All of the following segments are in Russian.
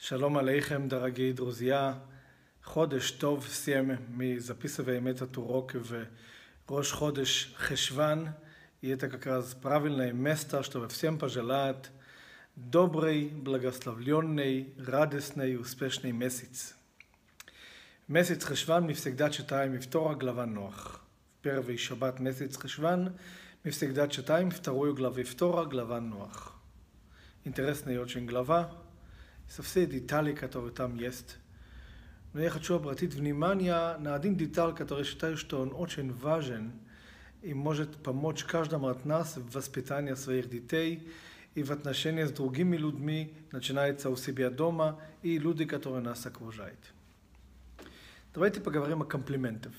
Shalom Aleichem, дорогие друзья. Ходеш טוב סיים мезаписывая этот урок в Рош Ходеш Хешван. И это как раз правильное место, чтобы всем пожелать добрый, благословленный, радостный, успешный месяц. Месяц Хешван мы всегда читаем вторая глава Ноах. В первый шаббат месяц Хешван мы всегда читаем вторую главу, вторая глава Ноах. Интересная очень глава. Со все детали, которые там есть. Но я хочу обратить внимание на один деталь, который считаю, что он очень важен и может помочь каждому от нас в воспитании своих детей и в отношении с другими людьми, начинается у себя дома и люди, которые нас окружают. Давайте поговорим о комплиментах.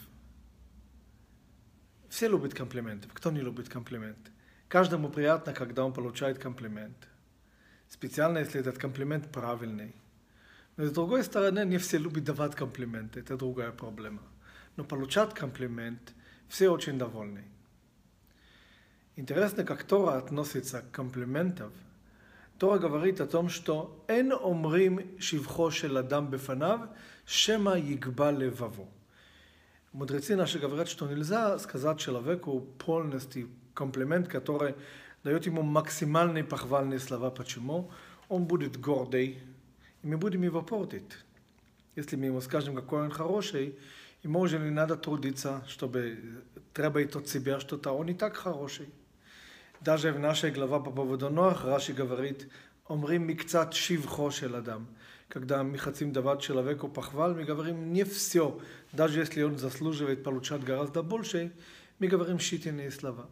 Все любят комплименты. Кто не любит комплименты? Каждому приятно, когда он получает комплимент. Специально, если этот комплимент правильный. Но с другой стороны, не все любят давать комплименты. Это другая проблема. Но получать комплимент, все очень довольны. Интересно, как Тора относится к комплиментам. Тора говорит о том, что «Эн омрим шивхо шел адам бефанав, шема ягба леваво». Мудрецы наши говорят, что нельзя сказать человеку полностью комплимент, который дает ему максимальные похвальные слова. Почему? Он будет гордый, и мы будем его портить. Если мы ему скажем, какой он хороший, ему уже не надо трудиться, чтобы требовать от себя что-то. Он и так хороший. Даже в нашей главе по поводу Ноах Раши говорит, «Омрим микцат шивхо шел адам». Когда мы хотим давать человеку похвал, мы говорим не все. Даже если он заслуживает получать гораздо больше, мы говорим считанные слова.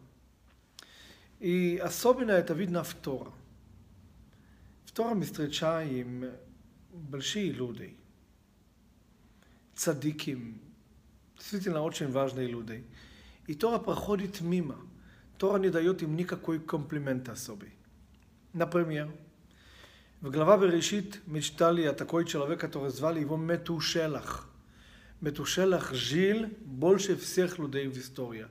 И особенно это видно в Торе. В Торе мы встречаем большие люди, цадиким, действительно очень важные люди. И Тора проходит мимо. Тора не дает им никакой комплимент особый. Например, в глава Берешит мы читали о такой человеке, который звали его Метушелах. Метушелах жил больше всех людей в истории.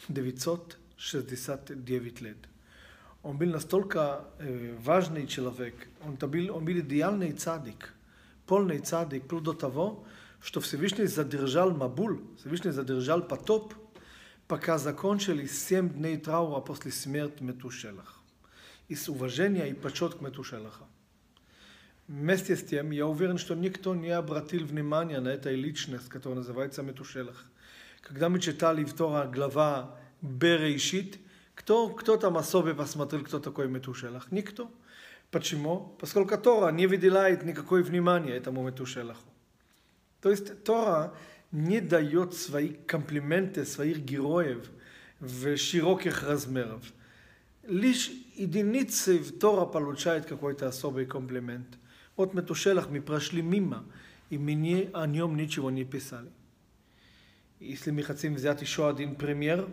969 лет. Он был настолько важный человек, он был идеальный цадик, полный цадик, вплоть до того, что Всевышний задержал Мабуль, Всевышний задержал потоп, пока закончились 7 дней траура после смерти Метушелаха. Из уважения и почет к Метушелаха. Вместе с тем, я уверен, что никто не обратил внимания на эту личность, которая называется Метушелах. Когда мы читали в Торе глава Берешит, кто там особо посмотрел, кто такой Метушелах? Никто. Почему? Поскольку Тора не выделяет никакое внимание этому Метушелаху. То есть Тора не дает свои комплименты, своих героев в широких размерах. Лишь единицы в Тора получают какой-то особый комплимент. Вот Метушелах мы прошли мимо, и мы о нем ничего не писали. Если мы хотим взять еще один пример,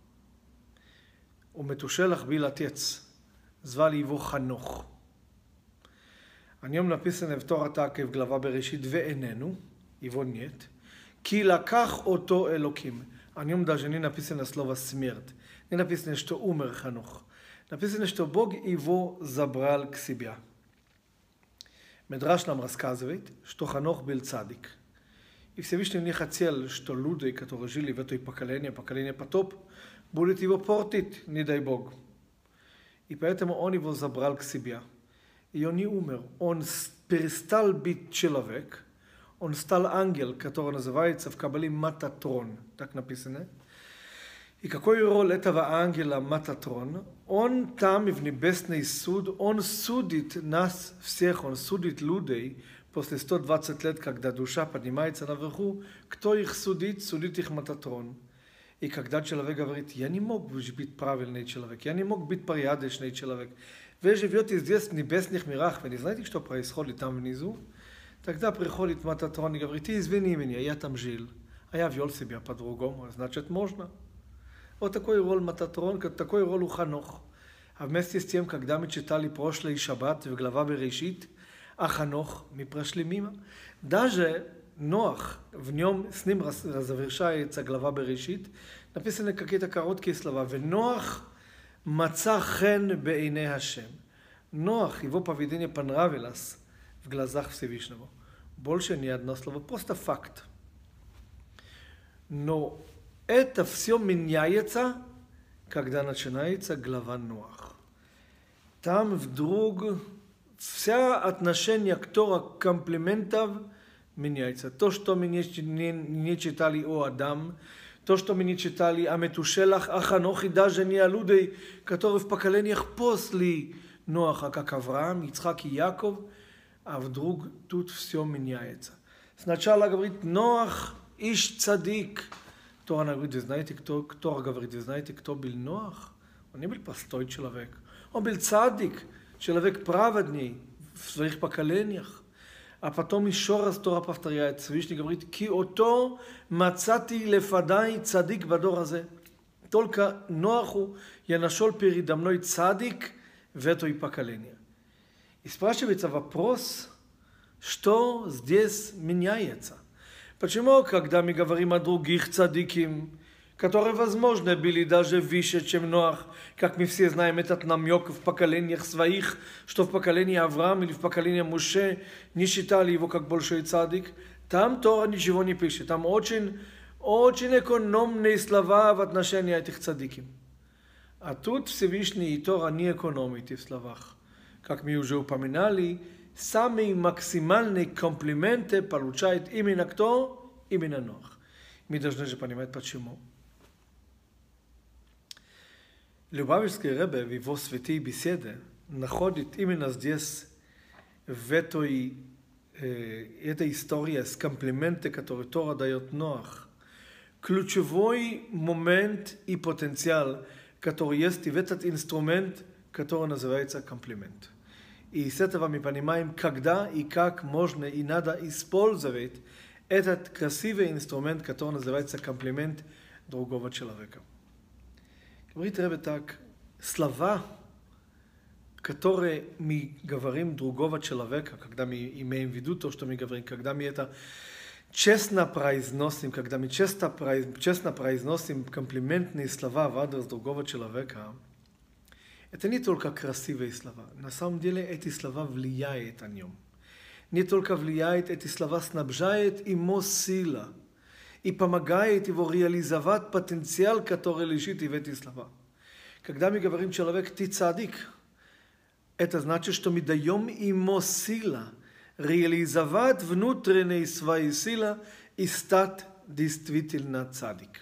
у Метушелах был отец, звали его Ханох. О нем написано в Торе так, в глава Берешит, «Веэнену», его нет, «Ки лаках ото элоким». О нем даже не написано слово «смерть», не написано, что умер Ханох. Написано, что Бог его забрал к себе. Медраш нам рассказывает, что Ханох был цадик. И Всевышний не хотел, что люди, которые жили в этой поколении потоп, будут его портить, не дай Бог. И поэтому он его забрал к себе. И он не умер. Он перестал быть человек. Он стал ангел, который называется в Кабале Мататрон. Так написано. И какой роль этого ангела Мататрон? Он там в небесный суд, он судит нас всех, он судит людей после 120 лет, когда душа поднимается наверху. Кто их судит? Судит их Мататрон. И когда человек говорит, я не мог быть правильный человек, я не мог быть порядочный человек, вы живете здесь в небесных мирах, вы не знаете, что происходит там внизу? Тогда приходит Мататрон и говорит, извини меня, я там жил, а я вел себя по-другому, значит можно. Вот такой роль Мататрон, такой роль у Ханох. А вместе с тем, когда мы читали прошлый шаббат в глава Берешит, а Ханох мы прошли мимо. Даже Ноах, в нем, с ним завершается глава Берешит, написаны какие-то короткие слова. «Веноах маца хен бейней Хашем». Ноах, его поведение понравилось в глазах Всевышнего. Больше ни одно слово, просто факт. Но это все меняется, когда начинается глава Ноах. Там вдруг вся отношение к Тору комплиментов меняется. То, что мы не читали о Адам, то, что мы не читали о Метушелах, о Ханохе, даже не о людях, которые в поколениях после Ноаха, как Авраам, Ицхак и Яков, а вдруг тут все меняется. Сначала говорит Ноах, иш цадик. Тора говорит, вы знаете, Тора говорит, вы знаете, кто был Ноах? Он не был простой человек. Он был цадик, человек праведный в своих поколениях. А потом еще раз Тора повторяет, Всевышний говорит, «Ки ото мацати лефадай цадик бадор азе». Только Ноаху я нашел передо мной цадик в это поколение. И спрашивается вопрос, что здесь меняется? Почему, когда мы говорим о других цадиким, которые, возможно, были даже выше, чем Ноах, как мы все знаем, этот намек в поколениях своих, что в поколении Авраама или в поколении Моше не считали его как большой цадик, там Тора ничего не пишет. Там очень экономные слова в отношении этих цадиким. А тут Всевышний и Тора не экономит в словах. Как мы уже упоминали, самые максимальные комплименты получает именно кто? Именно Ноах. Мы должны же понимать, почему. Любавичский Ребе в его святые беседы находит именно здесь, в этой истории с комплименты, которые Тора дает Ноах, ключевой момент и потенциал, который есть в этот инструмент, который называется комплимент. И с этого мы понимаем, когда и как можно и надо использовать этот красивый инструмент, который называется комплимент другого человека. Говорит Ребе так, слова, которые мы говорим другого человека, когда мы имеем в виду то, что мы говорим, когда мы это честно произносим, когда мы честно произносим комплиментные слова в адрес другого человека, это не только красивые слова. На самом деле эти слова влияют на нем. Не только влияет, эти слова снабжает ему сила и помогает его реализовать потенциал, который лежит в этих словах. Когда мы говорим человек «ты цадик», это значит, что мы даем ему силу реализовать внутренние свои силы и стать действительно цадик.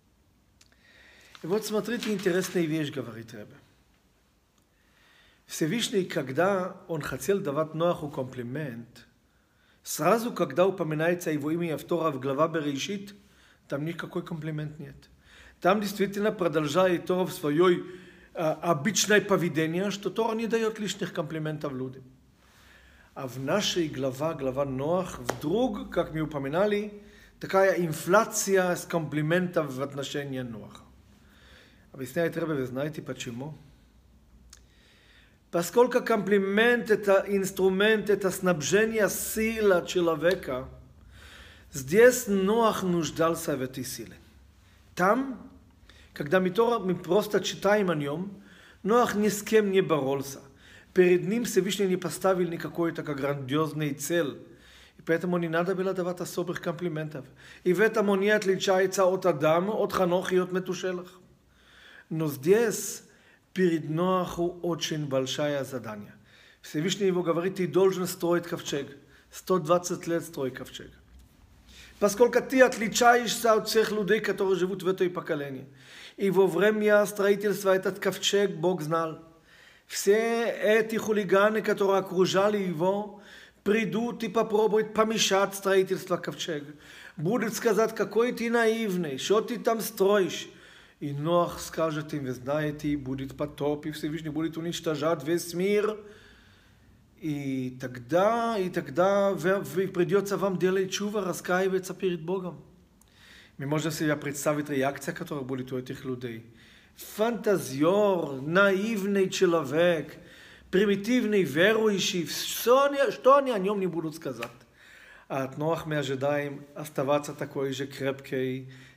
И вот смотрите, интересная вещь, говорит Ребе. Всевышний, когда он хотел давать Ноаху комплимент, сразу, когда упоминается его имя в Торе в глава Берешит, там никакой комплимент нет. Там действительно продолжает Тора в свое обычное поведение, что Тора не дает лишних комплиментов людям. А в нашей глава Ноах, вдруг, как мы упоминали, такая инфляция с комплиментов в отношении Ноаха. Объясняет Ребе, вы знаете почему? Поскольку комплимент – это инструмент, это снабжение силы человека, здесь Ноах нуждался в этой силе. Там, когда мы просто читаем о нем, Ноах ни с кем не боролся. Перед ним Всевышний не поставил никакой такой грандиозной цель. И поэтому не надо было давать особых комплиментов. И в этом он не отличается от Адама, от Ханоха и от Метушелах. Но здесь перед Ноаху очень большое задание. Всевышний его говорит, ты должен строить ковчег. 120 лет строй ковчег. Поскольку ты отличаешься от всех людей, которые живут в этой поколении. И во время строительства этот ковчег Бог знал. Все эти хулиганы, которые окружали его, придут и попробуют помешать строительству ковчега. Будут сказать, какой ты наивный, что ты там строишь. И Ноах скажет им, вы знаете, будет потоп, и Всевышний будет уничтожать весь мир. И тогда придется вам делать чува, раскаиваться перед Богом. Мы можем себе представить реакцию, которая будет у этих людей. Фантазер, наивный человек, примитивный верующий, что они о нем не будут сказать. А от Ноах мы ожидаем оставаться такой же крепкой,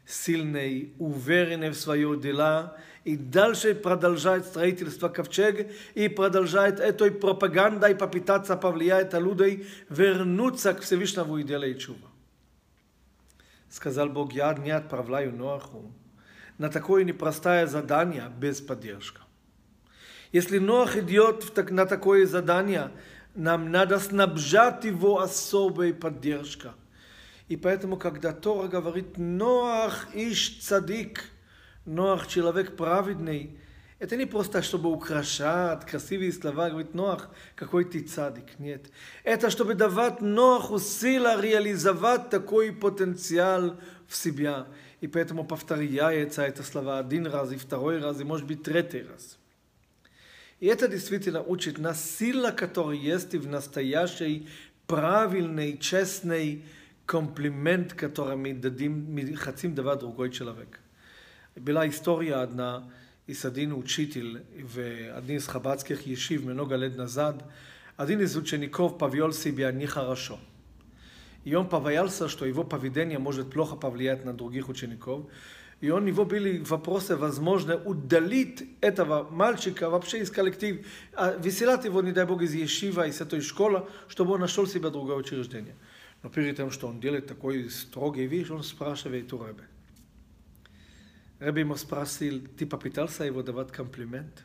silnej, uverene v svojoj dela i dalsze продолжает строительство ковчега и продолжает этой пропагандой попытаться повлиять на людей вернуться к Всевышнему и делать чува. Сказал Бог, я не отправляю Ноаху на такое непростое задание без поддержки. Если Ноах идет на такое задание, нам надо снабжать его особой поддержкой. И поэтому, когда Тора говорит «Ноах иш цадик», Ноах человек праведный, это не просто, чтобы украшать красивые слова, говорит Ноах, какой ты цадик. Нет. Это чтобы давать Ноаху силу реализовать такой потенциал в себя. И поэтому повторяется это слова один раз, и второй раз, и может быть третий раз. И это действительно учит нас сила, которая есть в настоящей, правильной, честной комплимент, который мы хотим давать другой человек. Была история одна из один учитель в один из хаббатских ешив много лет назад. Один из учеников повел себя нехорошо. И он побоялся, что его поведение может плохо повлиять на других учеников. И у него были вопросы, возможно, удалить этого мальчика вообще из коллектива, выселять его, не дай Бог, из ешива, из этой школы, чтобы он нашел себе другое учреждение. Но перед тем, что он делает такой строгий вещь, он спрашивает у Ребе. Ребе ему спросил, ты попытался его давать комплимент?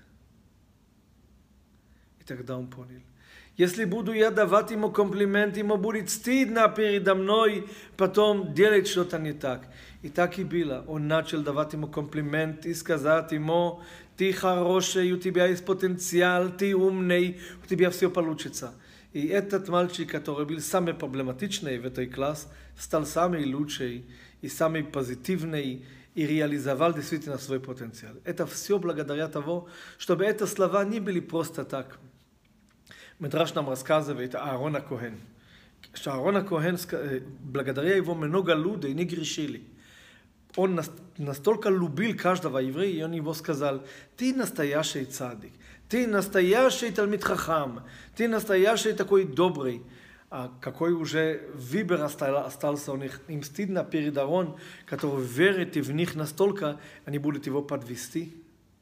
И тогда он понял. Если буду я давать ему комплимент, ему будет стыдно передо мной потом делать что-то не так. И так и было. Он начал давать ему комплимент и сказать ему, ты хороший, у тебя есть потенциал, ты умный, у тебя все получится. И этот мальчик, который был самый проблематичный в этой классе, стал самый лучший и самый позитивный и реализовал действительно свой потенциал. Это все благодаря тому, чтобы эти слова не были просто так. Медраш нам рассказывает о Аарон Коэн. Что Аарон Коэн, благодаря его много людей не грешили. Он настолько любил каждого еврея, и он его сказал, ты настоящий цадик, ты настоящий талмид хахам, ты настоящий такой добрый. А какой уже выбор остался у них. Им стыдно перед Аарон, который верит в них настолько, они будут его подвести.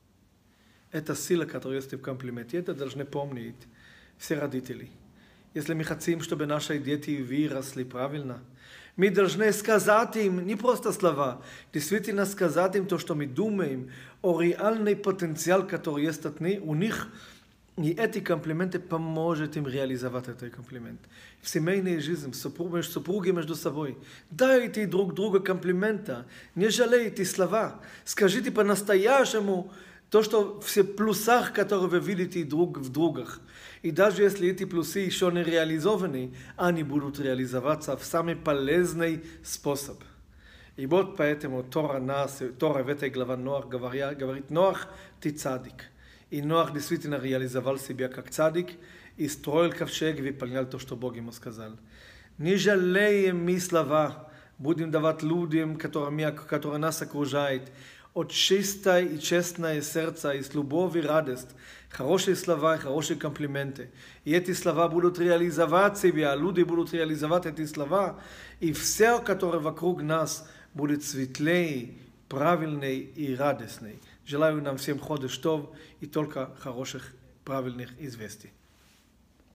Это сила, которая есть в комплименте. Это должны помнить все родители. Если мы хотим, чтобы наши дети выросли правильно, мы должны сказать им не просто слова, действительно сказать им то, что мы думаем, о реальный потенциал, который есть у них, и эти комплименты поможет им реализовать этот комплимент. В семейной жизни, супруги между собой, дайте друг другу комплимента, не жалейте слова, скажите по-настоящему то, что все плюсах, которые вы видите друг в другах. И даже если эти плюсы еще не реализованы, они будут реализоваться в самый полезный способ. И вот поэтому Тора в этой главе Ноах говорит, Ноах, ты цадик. И Ноах действительно реализовал себя как цадик и строил ковчег и выполнял то, что Бог ему сказал. Не жалеем мы слова, будем давать людям, которые нас окружают, от чистое и честное сердце, и с любовью и радость, хорошие слова и хорошие комплименты. И эти слова будут реализовать себя, люди будут реализовать эти слова, и все, которое вокруг нас, будет светлее, правильней и радостней. Желаю нам всем ходыш тов и только хороших, правильных известий.